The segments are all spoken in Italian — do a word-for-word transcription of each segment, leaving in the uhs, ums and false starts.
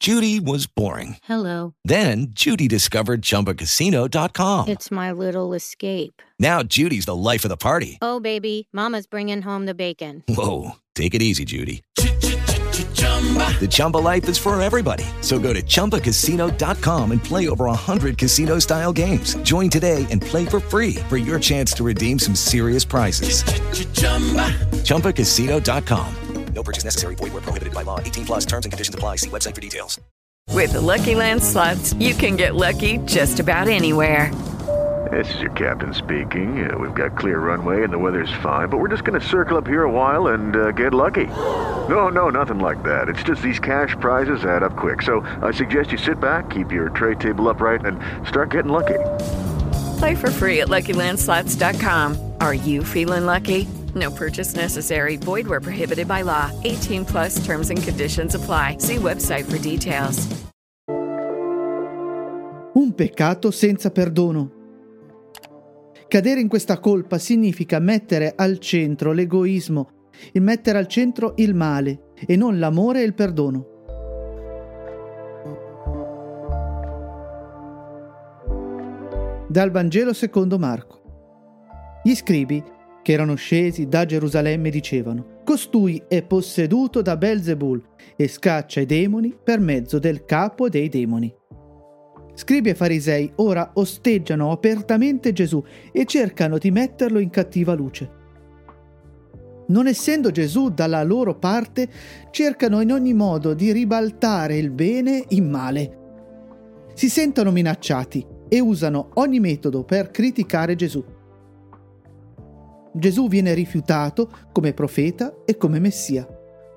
Judy was boring. Hello. Then Judy discovered Chumba Casino dot com. It's my little escape. Now Judy's the life of the party. Oh, baby, mama's bringing home the bacon. Whoa, take it easy, Judy. The Chumba life is for everybody. So go to Chumba Casino dot com and play over one hundred casino-style games. Join today and play for free for your chance to redeem some serious prizes. Chumba Casino dot com. No purchase necessary. Void where prohibited by law. eighteen plus terms and conditions apply. See website for details. With the Lucky Land Slots, you can get lucky just about anywhere. This is your captain speaking. Uh, we've got clear runway and the weather's fine, but we're just going to circle up here a while and uh, get lucky. No, no, nothing like that. It's just these cash prizes add up quick. So I suggest you sit back, keep your tray table upright, and start getting lucky. Play for free at Lucky Land Slots dot com. Are you feeling lucky? No purchase necessary. Void where prohibited by law. eighteen plus terms and conditions apply. See website for details. Un peccato senza perdono. Cadere in questa colpa significa mettere al centro l'egoismo, il mettere al centro il male e non l'amore e il perdono. Dal Vangelo secondo Marco. Gli scribi che erano scesi da Gerusalemme dicevano: costui è posseduto da Belzebul e scaccia i demoni per mezzo del capo dei demoni. Scribi e farisei ora osteggiano apertamente Gesù e cercano di metterlo in cattiva luce. Non essendo Gesù dalla loro parte, cercano in ogni modo di ribaltare il bene in male. Si sentono minacciati e usano ogni metodo per criticare Gesù. Gesù viene rifiutato come profeta e come Messia.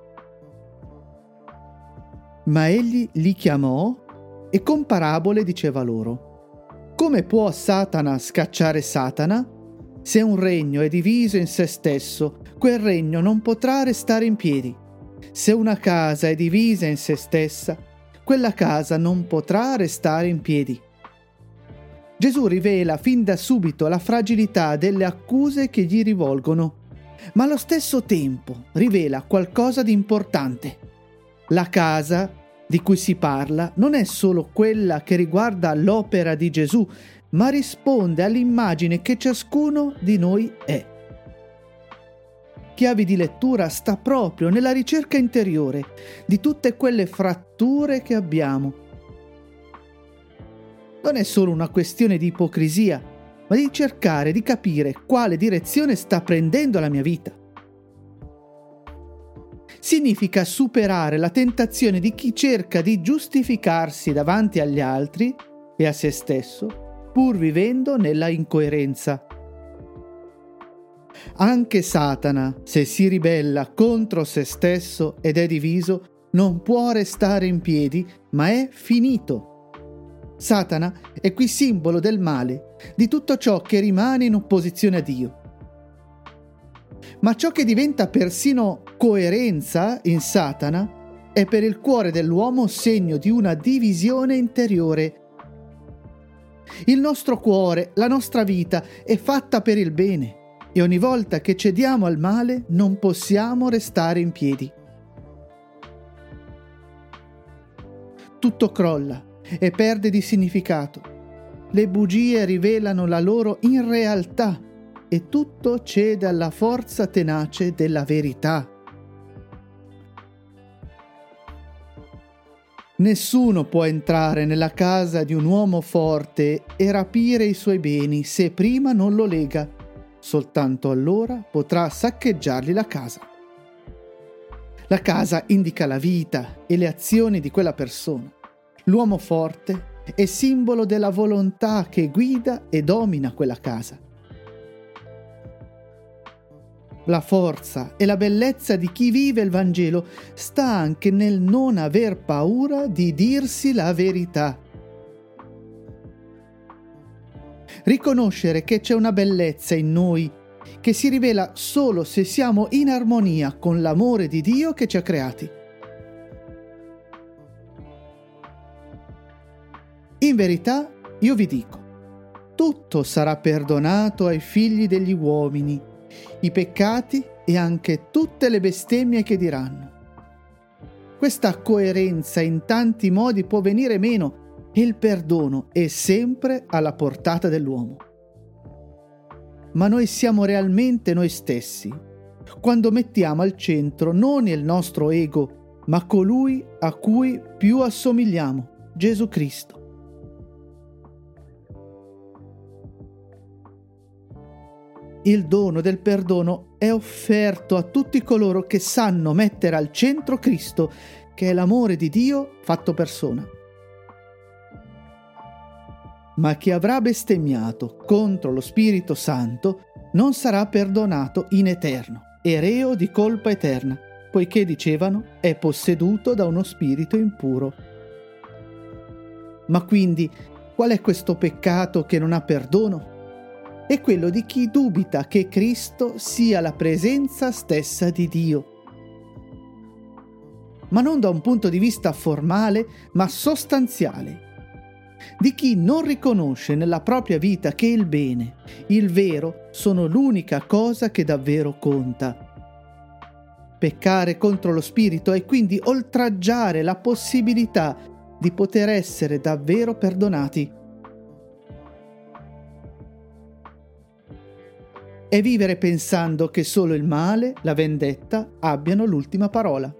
Ma egli li chiamò e con parabole diceva loro: come può Satana scacciare Satana? Se un regno è diviso in se stesso, quel regno non potrà restare in piedi. Se una casa è divisa in se stessa, quella casa non potrà restare in piedi. Gesù rivela fin da subito la fragilità delle accuse che gli rivolgono, ma allo stesso tempo rivela qualcosa di importante. La casa di cui si parla non è solo quella che riguarda l'opera di Gesù, ma risponde all'immagine che ciascuno di noi è. Chiavi di lettura sta proprio nella ricerca interiore di tutte quelle fratture che abbiamo. Non è solo una questione di ipocrisia, ma di cercare di capire quale direzione sta prendendo la mia vita. Significa superare la tentazione di chi cerca di giustificarsi davanti agli altri e a se stesso, pur vivendo nella incoerenza. Anche Satana, se si ribella contro se stesso ed è diviso, non può restare in piedi, ma è finito. Satana è qui simbolo del male, di tutto ciò che rimane in opposizione a Dio. Ma ciò che diventa persino coerenza in Satana è per il cuore dell'uomo segno di una divisione interiore. Il nostro cuore, la nostra vita è fatta per il bene e ogni volta che cediamo al male non possiamo restare in piedi. Tutto crolla e perde di significato. Le bugie rivelano la loro irrealtà e tutto cede alla forza tenace della verità. Nessuno può entrare nella casa di un uomo forte e rapire i suoi beni se prima non lo lega. Soltanto allora potrà saccheggiargli la casa. La casa indica la vita e le azioni di quella persona. L'uomo forte è simbolo della volontà che guida e domina quella casa. La forza e la bellezza di chi vive il Vangelo sta anche nel non aver paura di dirsi la verità. Riconoscere che c'è una bellezza in noi che si rivela solo se siamo in armonia con l'amore di Dio che ci ha creati. In verità, io vi dico, tutto sarà perdonato ai figli degli uomini, i peccati e anche tutte le bestemmie che diranno. Questa coerenza in tanti modi può venire meno e il perdono è sempre alla portata dell'uomo. Ma noi siamo realmente noi stessi quando mettiamo al centro non il nostro ego, ma colui a cui più assomigliamo, Gesù Cristo. Il dono del perdono è offerto a tutti coloro che sanno mettere al centro Cristo, che è l'amore di Dio fatto persona. Ma chi avrà bestemmiato contro lo Spirito Santo non sarà perdonato in eterno, e reo di colpa eterna, poiché dicevano è posseduto da uno spirito impuro. Ma quindi qual è questo peccato che non ha perdono? È quello di chi dubita che Cristo sia la presenza stessa di Dio. Ma non da un punto di vista formale, ma sostanziale. Di chi non riconosce nella propria vita che il bene, il vero, sono l'unica cosa che davvero conta. Peccare contro lo Spirito è quindi oltraggiare la possibilità di poter essere davvero perdonati. È vivere pensando che solo il male, la vendetta, abbiano l'ultima parola.